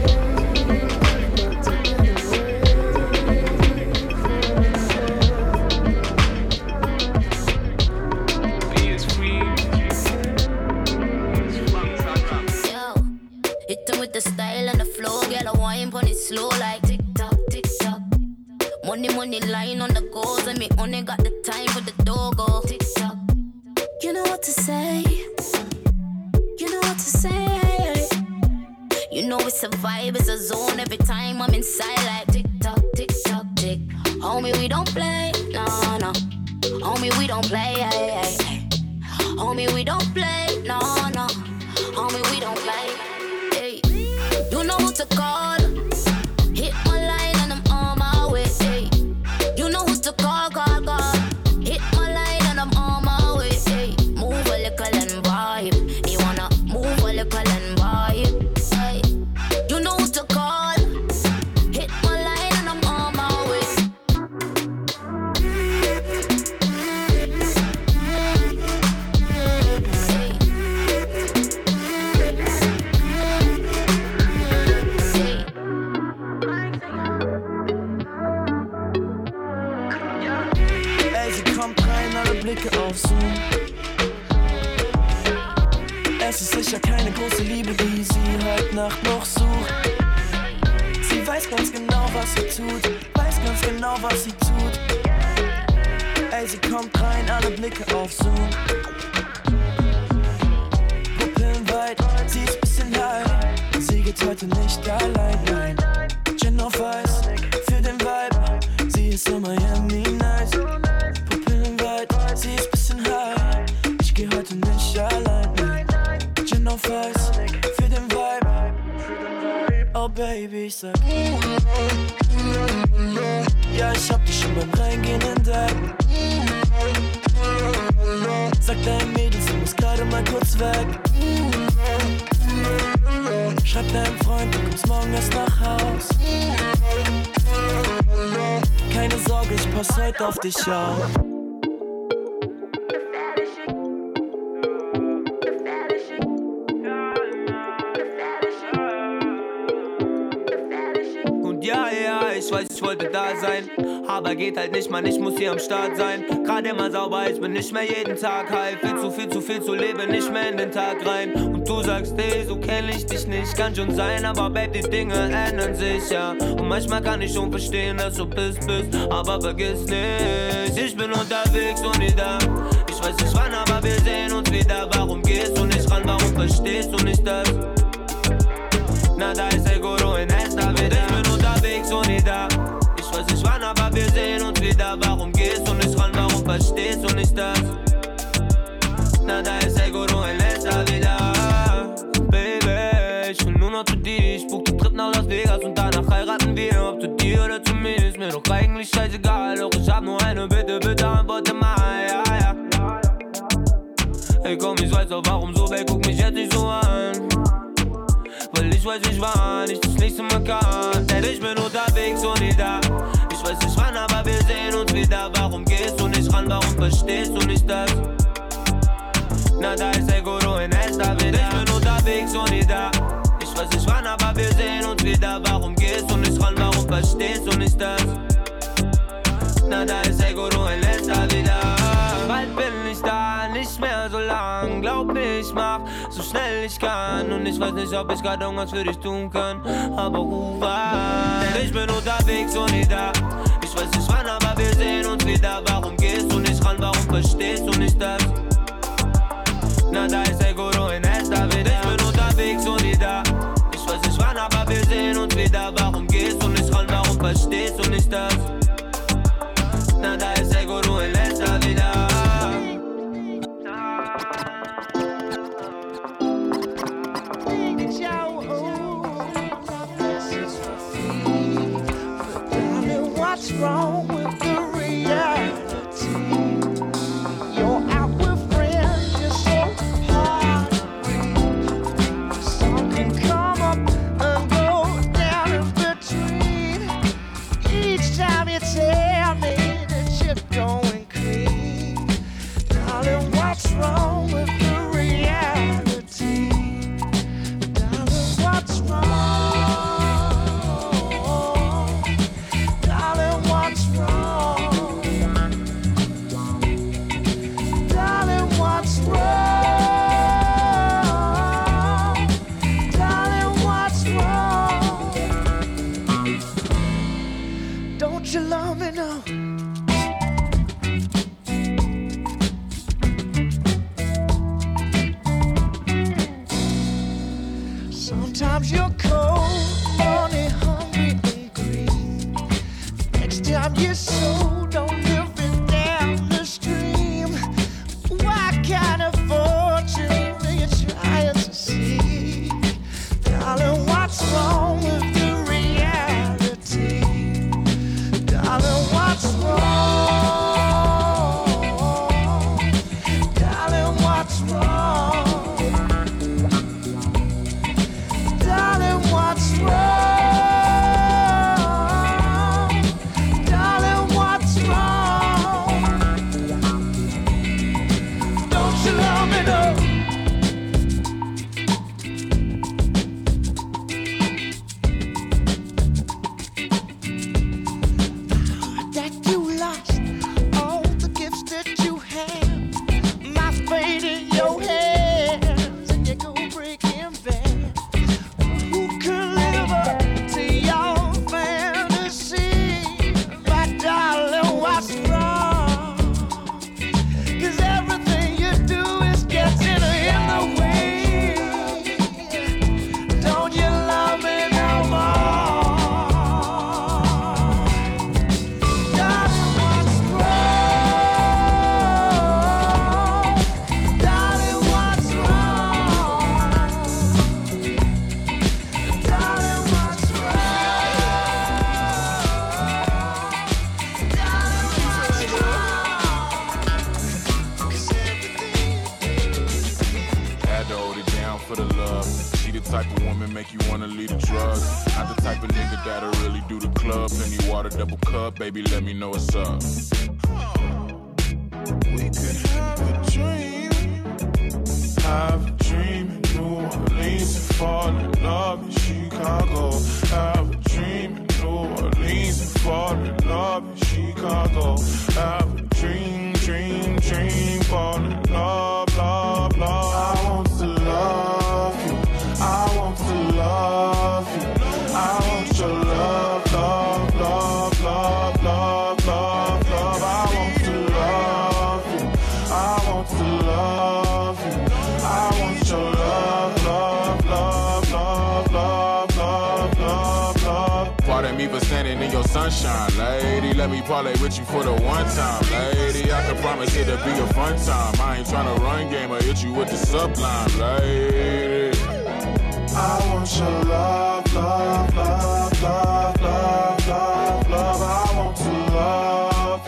with the style and the flow, girl, I wine pon it slow like tick tock, tick tock. Money, money line on the goals, and me only got the time for the doggo. Tick tock. You know what to say. You know what to say. You know it's a vibe, it's a zone. Every time I'm inside like tick tock, tick tock, tick. Homie, we don't play, no, no. Homie, we don't play, ay, ay, ay. Homie, we don't play, no, no. Homie, we don't play. You know who to call. Hit my line and I'm on my way. Hey. You know who to call, call, call. Hit my line and I'm on my way. Hey. Move a little and vibe. You wanna move a little and vibe. Hey. You know who to call. Hit my line and I'm on my way. Blicke auf Zoom. Es ist sicher keine große Liebe, die sie heute Nacht noch sucht. Sie weiß ganz genau, was sie tut, weiß ganz genau, was sie tut. Ey, sie kommt rein, alle Blicke auf Zoom. Pupillen weit, sie ist bisschen high. Sie geht heute nicht allein, nein. Gin auf Eis, für den Vibe. Sie ist in Miami nice. Sie ist bisschen high, ich geh heute nicht allein. Gin auf Eis, für den Vibe. Baby, ich sag ja, ich hab dich schon beim Reingehen entdeckt. Sag deinem Mädels, du musst gerade mal kurz weg. Schreib deinem Freund, du kommst morgen erst nach Haus. Keine Sorge, ich pass heute auf dich auf. Ich weiß, ich wollte da sein, aber geht halt nicht, man, ich muss hier am Start sein. Gerade immer sauber, ich bin nicht mehr jeden Tag high. Viel zu viel, zu viel zu leben, nicht mehr in den Tag rein. Und du sagst, hey, so kenn ich dich nicht, kann schon sein, aber Babe, die Dinge ändern sich, ja. Und manchmal kann ich schon verstehen, dass du bist, bist, aber vergiss nicht, ich bin unterwegs und nie da. Ich weiß nicht wann, aber wir sehen uns wieder. Warum gehst du nicht ran, warum verstehst du nicht das? Na, da ist Seguro in esta vida. Ich bin unterwegs und nie da. Ich weiß nicht wann, aber wir sehen uns wieder. Warum gehst du nicht ran, warum verstehst du nicht das? Na, da ist Seguro in esta vida. Baby, ich will nur noch zu dir. Ich buch den Trip nach Las Vegas und danach heiraten wir. Ob zu dir oder zu mir, ist mir doch eigentlich scheißegal. Doch ich hab nur eine Bitte, bitte antworte mal, ja, ja. Hey komm, ich weiß doch warum so, ey, guck mich jetzt nicht so an. Weil ich weiß nicht wann ich das nächste Mal kann. Denn ich bin unterwegs und nie da. Ich weiß nicht wann, aber wir sehen uns wieder. Warum gehst du nicht ran, warum verstehst du nicht das? Na, da ist Seguro in esta vida. Ich bin unterwegs und nie da. Ich weiß nicht wann, aber wir sehen uns wieder. Warum gehst du nicht ran, warum verstehst du nicht das? Na, da ist Seguro in esta vida. Bald bin ich da, nicht mehr so lang. Glaub mir, ich mach so schnell ich kann. Und ich weiß nicht, ob ich grad irgendwas für dich tun kann. Aber ruf an. Denn ich bin unterwegs und nie da. Ich weiß nicht wann, aber wir sehen uns wieder. Warum gehst du nicht ran, warum verstehst du nicht das? Na, da ist Seguro in esta vida. Ich bin unterwegs und nie da. Ich weiß nicht wann, aber wir sehen uns wieder. Warum gehst du nicht ran, warum verstehst du nicht das? Na, da ist Seguro in esta vida. What's wrong with the reality? You're out with friends, you're so hard to read. Some can come up and go down in between. Each time you tell me that you're going clean. Darling, what's wrong with the reality? Darling, what's wrong? You love me now. Sometimes you're cold, money, hungry, and green. Next time you're so don't live it down the stream. What kind of fortune do you try to seek? Darling, what's wrong with the reality? Darling, what's wrong? Darling, what's wrong? Darling, what's wrong? Darling, what's make you wanna leave the drugs. Not the type of nigga that'll really do the club. Plenty water, double cup, baby, let me know what's up. We could have a dream. Have a dream in New Orleans and fall in love in Chicago. Have a dream in New Orleans and fall in love in Chicago. Have a dream, dream, dream, fall in love, love, love. I want to love you. I want to love you. I want your love, love, love, love, love, love, love. I want to love you. I want to love you. I want your love, love, love, love, love, love, love, love. Pardon me for standing in your sunshine, lady. Let me parlay with you for the one time, lady. I can promise it'll be a fun time. I ain't tryna run game or hit you with the sublime, lady. I want your love, love, love, love, love, love, love. I want to love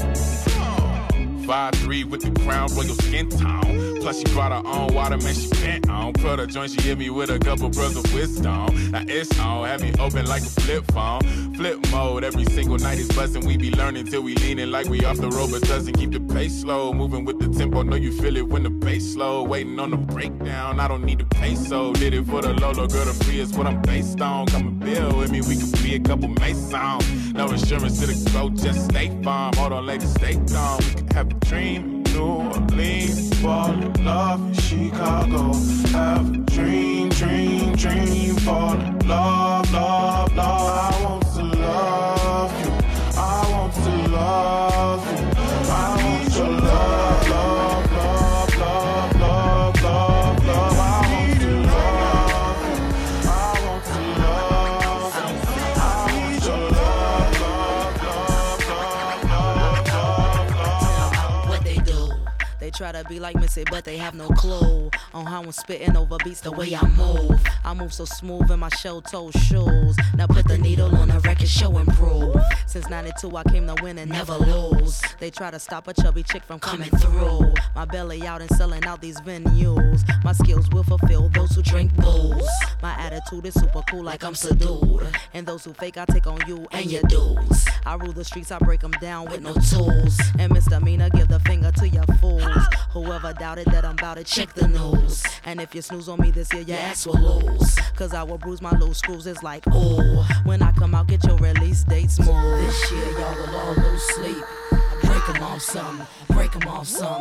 you. five three with the crown, royal skin tone. Plus she brought her own water, man, she bent on. Put her joint, she hit me with a couple pearls of wisdom. Now it's on, have me open like a flip phone. Flip mode, every single night is buzzing. We be learning till we leaning like we off the road, but doesn't keep the pace slow. Moving with the tempo, know you feel it when the bass slow. Waiting on the breakdown, I don't need the peso. Did it for the Lolo, girl, the free is what I'm based on. Come and build with me, we could be a couple Masons. No insurance to the go, just stay farm. Hold on, lady, stay calm. We could have a dream. New Orleans, fall in love in Chicago. Have a dream, dream, dream, fall in love, love, love. I want to love you. I want to love you. I want your love, love, love, love, love, love, love. I want to love you. I want to love you. I want your love, love, love, love, love, love, love. What they do? They try to be like Missy, but they have no clue on how I'm spitting over beats the way I move. I move so smooth in my shell-toe shoes. Now put the needle on the record, show improve. Since ninety-two, I came to win and never lose. They try to stop a chubby chick from coming through. My belly out and selling out these venues. My skills will fulfill those who drink booze. My attitude is super cool, like I'm subdued. And those who fake, I take on you and your dudes. I rule the streets, I break them down with no tools. And misdemeanor, give the finger to your fools. Whoever doubted that I'm about to check the news. And if you snooze on me this year, your ass will lose. Cause I will bruise my loose screws. It's like, ooh, when I come out, get your release date smooth. This year, y'all will all lose sleep. Break them off some, break them off some.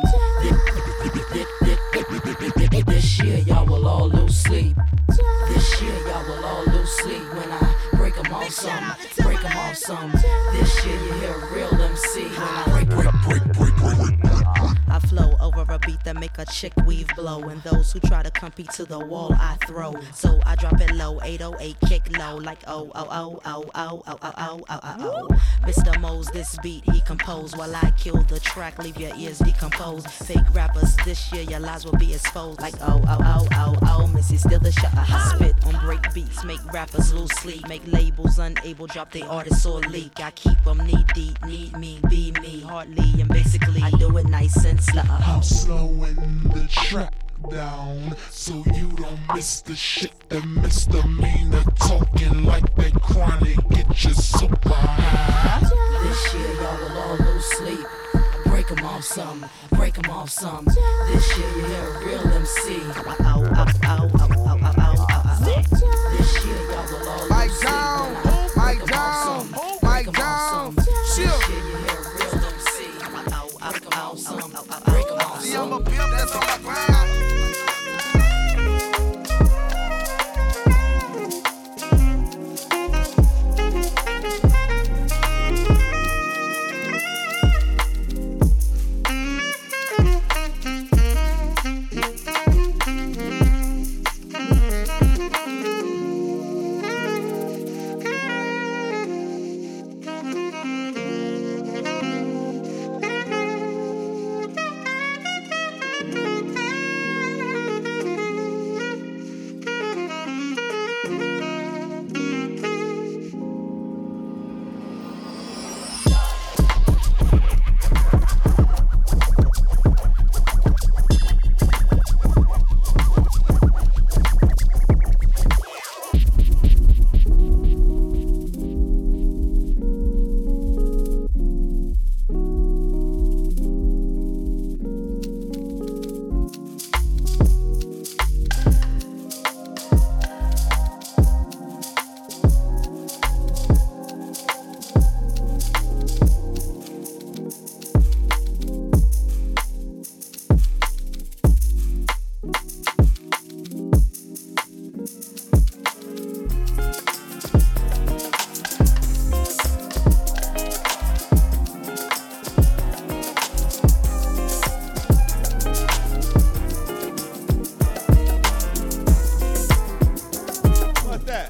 This year, y'all will all lose sleep. This year, y'all will all lose sleep when I break them off some, break them off some. This year, you hear a real M C when I break, break, break, break, break, break. I flow over a beat that make a chick weave blow. And those who try to compete to the wall, I throw. So I drop it low, eight oh eight kick low. Like oh, oh, oh, oh, oh, oh, oh, oh, oh, oh, oh. Mister Mose, this beat he composed. While I kill the track, leave your ears decomposed. Fake rappers, this year your lies will be exposed. Like oh, oh, oh, oh, oh, Missy still the shot. I spit on break beats, make rappers lose sleep. Make labels unable, drop their artists or leak. I keep them knee deep, need me, be me, hardly and basically. I do it nice and slow. I'm slowing the track down so you don't miss the shit that misdemeanor talking like they chronic. Get you super high. This year y'all will all lose sleep. Break 'em off some, break 'em off some. This year you hear a real M C. Ow, ow, ow, ow, ow, ow, ow, ow. This year y'all will all lose sleep. Down, mic down, mic down. This year you hear a real M C. Ow, ow, ow, ow, break 'em off some. See, I'm a pimp that's on my grind. that?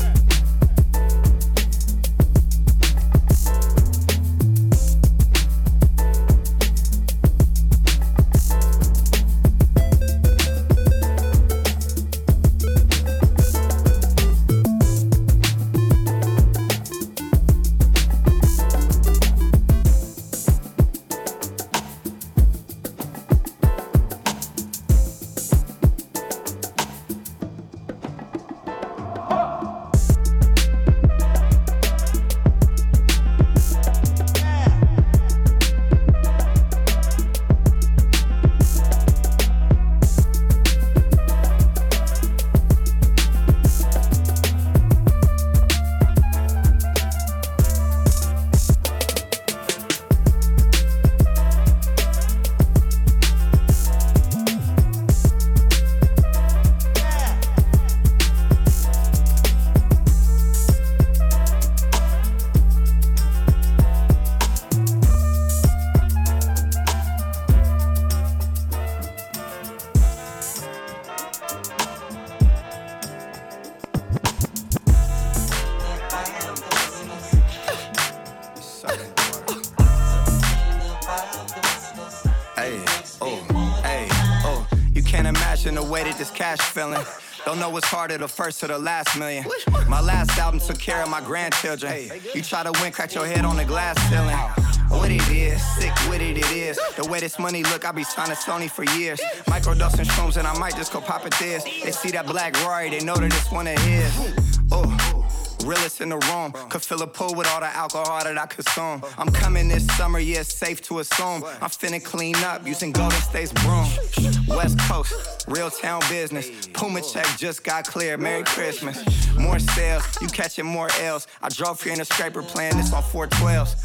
Don't know what's harder, the first or the last million. My last album took care of my grandchildren. You try to win, crack your head on the glass ceiling. What it is, sick with it, it is. The way this money look, I be signing Sony for years. Microdosing shrooms and I might just go pop it this. They see that black Rory, they know that it's one of his. Oh. Realest in the room, could fill a pool with all the alcohol that I consume. I'm coming this summer, yeah, it's safe to assume. I'm finna clean up using Golden State's broom. West Coast, real town business. Puma check just got cleared, Merry Christmas. More sales, you catching more L's. I drove here in a scraper playing this on four twelves.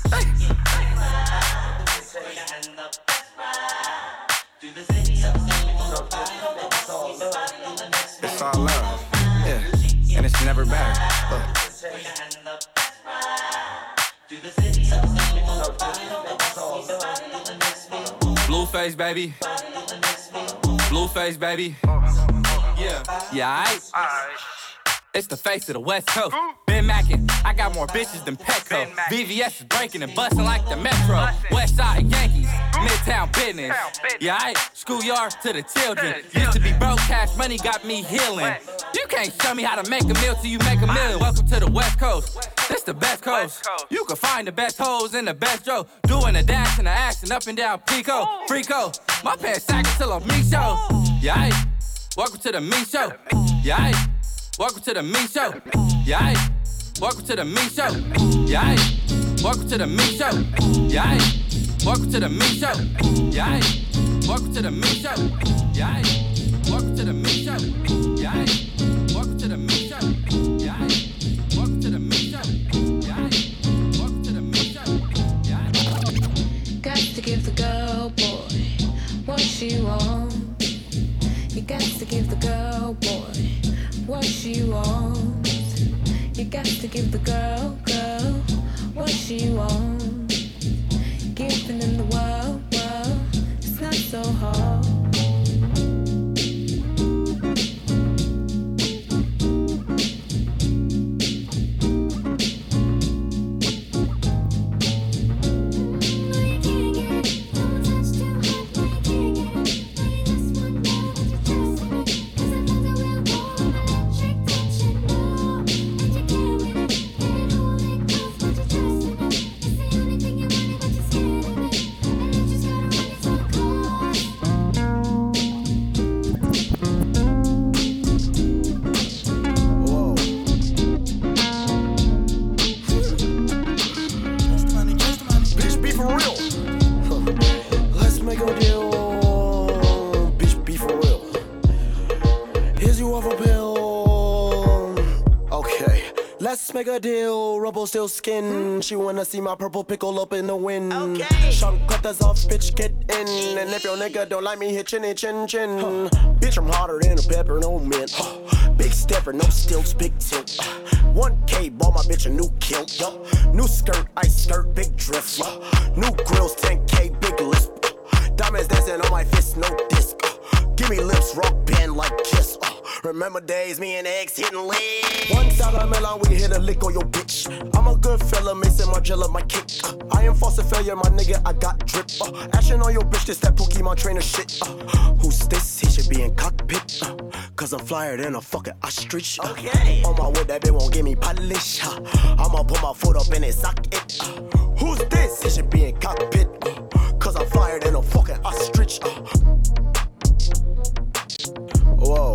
It's all love, yeah, and it's never better. Uh. Blueface, baby. Blueface, baby. Yeah. Yeah, aight. It's the face of the West Coast. Ben Mackin, I got more bitches than Petco. V V S is breaking and busting like the Metro. West Side Yankees, Midtown business. Yeah, aight. Schoolyard to the children. Used to be broke, cash money got me healing. You can't show me how to make a meal till you make a meal. Welcome to the West Coast. This the best coast. You can find the best hoes and the best Joe. Doing the dash and the action up and down Pico. Freako. My pants sagging till I'm me show. Yeah, aight. Welcome to the me show. Yeah, aight. Welcome to the me show. Yeah, aight. Welcome to the me show. Yeah, aight. Welcome to the me show. Yeah, aight. Welcome to the me show. Yeah, aight. Welcome to the me show. Yeah, aight. Welcome to the me show. Yeah, aight. Welcome to the me show. Yeah, aight. Welcome to the me show. Yeah, aight. Welcome to the me show. Yeah, aight. Got to give the girl, boy, what she wants. You got to give the girl, boy, what she wants. You got to give the girl, girl, what she wants. Giving in the world, world, it's not so hard. Let's make a deal, rubble still skin. She wanna see my purple pickle up in the wind. Okay. Chunk cutters off, bitch, get in. And if your nigga don't like me, hit chinny chin chin. Huh. Bitch, I'm hotter than a pepper, no mint. Huh. Big stepper, no stilts, big tilt. Uh, one K, bought my bitch a new kilt. Uh, new skirt, ice skirt, big drift. Uh, new grills, ten K, big lisp. Uh, diamonds dancing on my fist, no disc. Uh, give me lips, rock band like Kiss. Uh, Remember days, me and ex hitting legs. One dollar melon, we hit a lick on your bitch. I'm a good fella, Mason Margiela, my kick. Uh, I am false failure, my nigga, I got drip. Uh, action on your bitch, this that Pokemon trainer shit. Uh, who's this? He should be in cockpit. Uh, Cause I'm flyer than a fucking ostrich. Uh, okay. On my wood, that bitch won't give me polish. Uh, I'ma put my foot up in his socket. Uh, who's this? He should be in cockpit. Uh, Cause I'm flyer than a fucking ostrich. Uh, Whoa.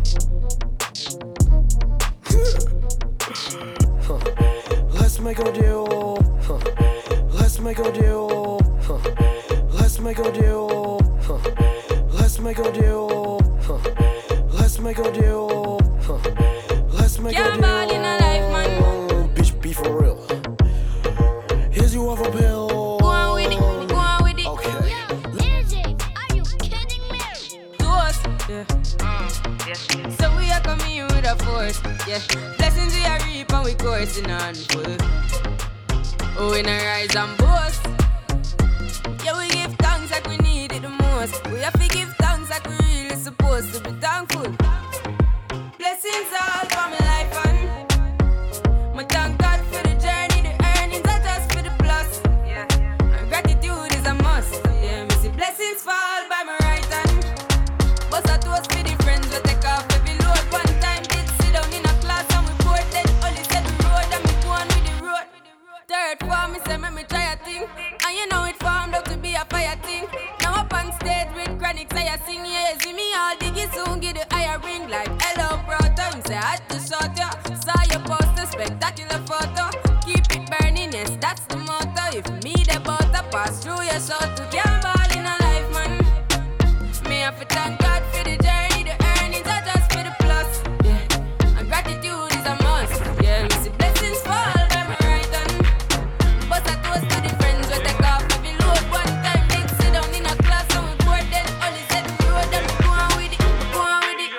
Huh. Let's make a deal. Huh. Let's make a deal. Huh. Let's make a deal. Huh. Let's make a deal. Huh. Let's make a deal. Huh. Let's make Can't a deal. ball in a life, man. Bitch, be for real. Here's you off a pill. Go on with it. Go on with it. Okay. Yeah. So we are coming in with a force, yeah. Blessings we are reap and we coursing on full. Oh, we not rise and boast. Yeah, we give thanks like we need it the most. We have to give thanks like we really supposed to be thankful. Blessings all for my life and my thank God for the journey, the earnings are just for the plus. Yeah, and gratitude is a must. Yeah, me see blessings fall by my right hand. Bust a toast for the friends we take off every load. One time did sit down in a class and we bored then only said the road and me go on with the road. Third form me say make me try a thing, and you know it formed out to be a fire thing. Now up on stage with chronic say I sing, yeah, see me all diggy soon get the higher ring like hello brother. Him say I had to shot ya, saw your poster spectacular photo. Keep it burning, yes that's the motto. If me the butter pass through your shot to can't ball in a life man. Me have to thank God for the journey, the earnings are just for the plus. Yeah, and gratitude is a must. Yeah, we see blessings fall by my right hand. But I toast to the friends we take off every load. One time did sit down in a class and we bored then only said the road and we go on with it, go on with it.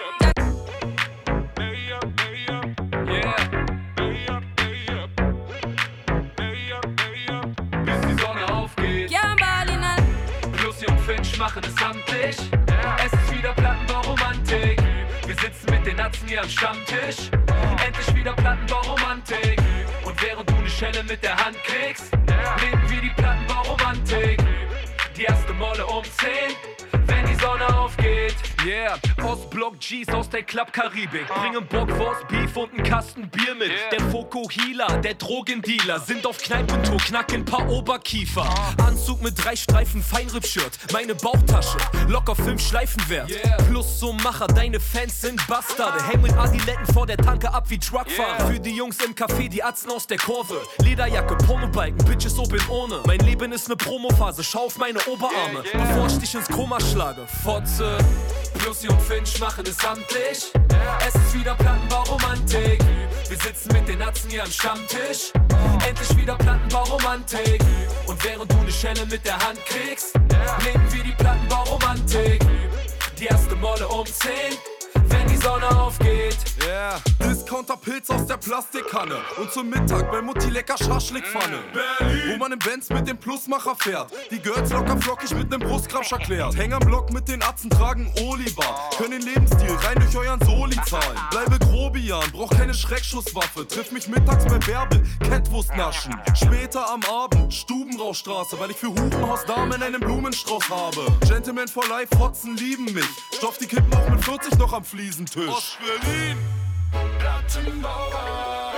Bis die Sonne aufgeht. Can't ball in a Lucy und Finch machen es amtlich. Es ist wieder Plattenbau-Romantik. Wir sitzen mit den Natzen hier am Stammtisch. Endlich wieder Plattenbau-Romantik. Und während du ne Schelle mit der Hand kriegst, leben wir die Plattenbau-Romantik. Die erste Molle um zehn, wenn die Sonne aufgeht. Yeah, Ostblock G's aus der Club Karibik bringen Bockwurst, Beef und einen Kasten Bier mit. Yeah. Der Fokuhila, der Drogendealer sind auf Kneipentour, knacken paar Oberkiefer. Anzug mit drei Streifen Feinripp-Shirt, meine Bauchtasche, locker fünf Schleifenwert. Yeah. Plus so Macher, deine Fans sind Bastarde. Häng mit Adiletten vor der Tanke ab wie Truckfahrer. Yeah. Für die Jungs im Café, die Atzen aus der Kurve. Lederjacke, Pornobalken, Bitches open ohne. Mein Leben ist ne Promophase, schau auf meine Oberarme, yeah, yeah. Bevor ich dich ins Koma schlage. Fotze. Lucy und Finch machen es amtlich. Es ist wieder Plattenbau-Romantik. Wir sitzen mit den Natzen hier am Stammtisch. Endlich wieder Plattenbau-Romantik. Und während du ne Schelle mit der Hand kriegst, leben wir die Plattenbau-Romantik. Die erste Molle um zehn, wenn die Sonne aufgeht. Yeah. Discounter-Pilz aus der Plastikkanne. Und zum Mittag bei Mutti lecker Schaschlikpfanne. Berlin. Wo man im Benz mit dem Plusmacher fährt. Die Girls locker flockig mit nem Brustkrabsch erklärt. Häng am Block mit den Atzen, tragen Oliver. Können den Lebensstil rein durch euren Soli zahlen. Bleibe Grobian, brauch keine Schreckschusswaffe. Triff mich mittags bei Bärbel, Kettwurst naschen. Später am Abend, Stubenrauchstraße, weil ich für Hurenhausdamen einen Blumenstrauß habe. Gentlemen for life, Fotzen lieben mich. Stoff die Kippen auch mit vierzig noch am Fliesentisch. Ost-Berlin. Plattenbauer,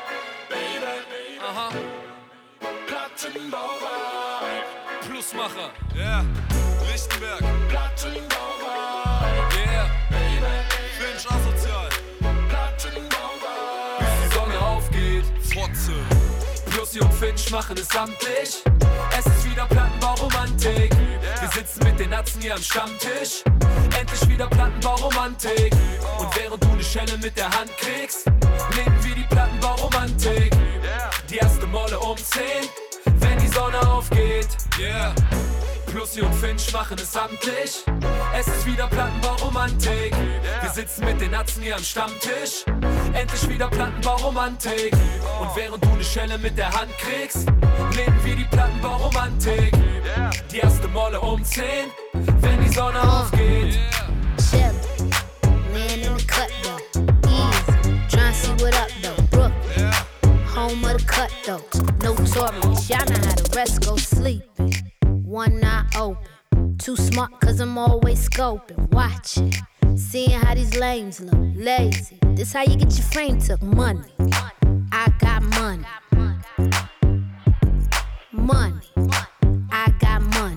Baby. Aha. Plattenbauer. Plusmacher. Yeah. Lichtenberg. Plattenbauer. Yeah. Baby. Finch asozial. Plattenbauer. Bis die Sonne aufgeht. Fotze. Lucy und Finch machen es amtlich. Es ist wieder Plattenbau-Romantik. Yeah. Wir sitzen mit den Natzen hier am Stammtisch. Endlich wieder Plattenbau-Romantik. Und während du ne Schelle mit der Hand kriegst, leben wir die Plattenbau-Romantik. Yeah. Die erste Molle um zehn, wenn die Sonne aufgeht. Yeah. Lucy und Finch machen es amtlich. Es ist wieder Plattenbau-Romantik. Yeah. Wir sitzen mit den Natzen hier am Stammtisch. Endlich wieder Plattenbau-Romantik. Und während du ne Schelle mit der Hand kriegst, leben wir die Plattenbau-Romantik. Yeah. Die erste Molle um zehn, wenn die Sonne aufgeht. Chill, man in the cut though. home of the cutthroats, notorious. Y'all know how the rest go sleeping. One eye open, too smart cause I'm always scoping, watching, seeing how these lames look, lazy. This how you get your frame took, money. I got money. Money. I got money.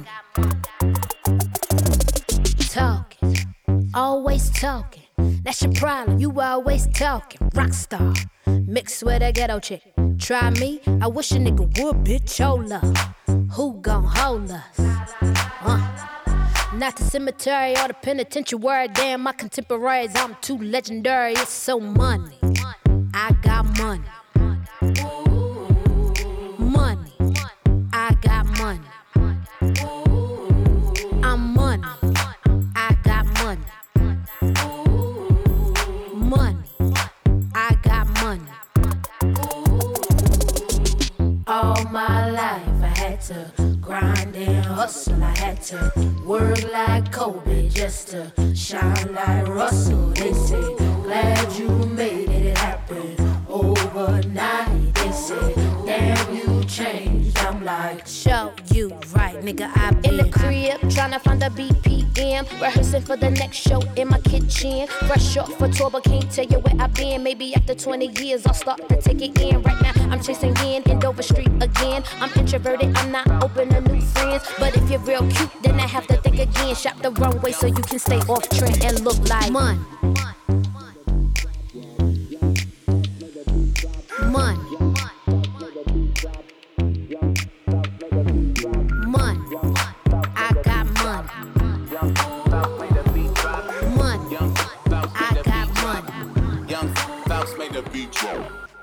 Talking, always talking. That's your problem, you always talking. Rockstar, mixed with a ghetto chick. Try me, I wish a nigga would, bitch, hold up. Who gon' hold us? Uh. Not the cemetery or the penitentiary. Damn, my contemporaries, I'm too legendary. It's so money. I got money. Money. I got money. I'm money. I got money. Money. I got money. All my life I had to grind and hustle. I had to work like Kobe just to shine like Russell. They say, glad you made it happen overnight. They say, damn, you changed. I'm like, show you right, nigga. I'm in the crib tryna find a B P M, rehearsing for the next show in my kitchen. Fresh off for tour, but can't tell you where I've been. Maybe after twenty years, I'll start to take it in. Right now, I'm chasing in in Dover Street again. I'm introverted, I'm not open to new friends. But if you're real cute, then I have to think again. Shop the runway so you can stay off trend and look like money. Money. Money. I got money. Money. I got money. Young Bounce made the beat drop.